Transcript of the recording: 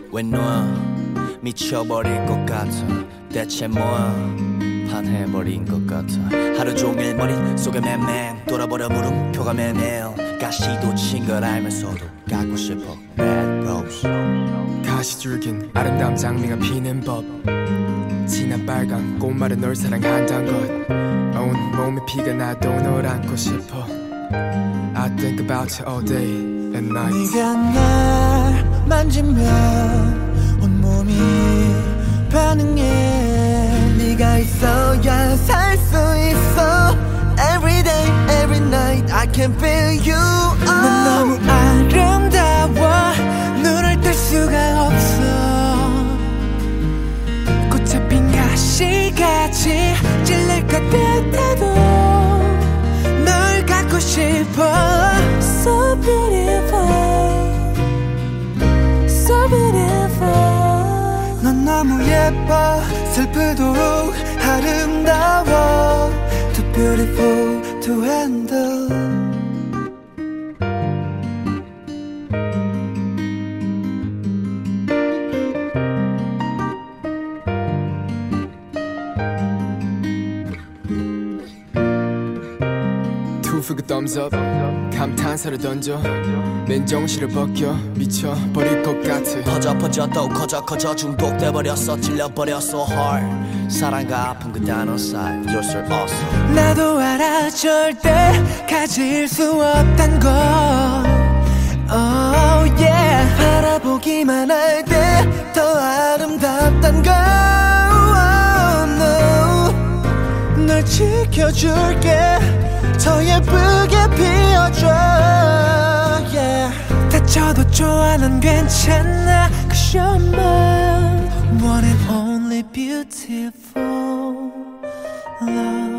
왜 놔 미쳐버릴 것 같아 대체 뭐야 반해버린 것 같아 하루 종일 머릿속에 맴맴 돌아버려 물음표가 매매일 가시도 친 걸 알면서도 갖고 싶어 Bad Rose 가시줄긴 아름다운 장미가 피는 법 진한 빨간 꽃말은 널 사랑한단 것 온 몸에 피가 나도 널 안고 싶어 I think about you all day and night 네가 날 만지면 온몸이 반응해 네가 있어야 살 수 있어 Every day, every night I can feel you 넌 너무 아름다워 눈을 뗄 수가 없어 꽃에 핀 가시같이 찔릴 것 같아도 널 갖고 싶어 So beautiful So beautiful 넌 너무 예뻐 슬프도록 아름다워 Too beautiful to handle Two for the thumbs up 감탄사를 던져 맨정신을 벗겨 미쳐버릴 것 같아 퍼져 또 커져 중독돼버렸어 찔려버렸어 hard 사랑과 아픔 그 단어 사이 You're so awesome 나도 알아 절대 가질 수 없단 걸 Oh yeah 바라보기만 할 때 더 아름답단 걸 oh, no. 널 지켜줄게 더 예쁘게 피어줘 yeah. 다쳐도 좋아 난 괜찮아 Cause you're my one and only beautiful love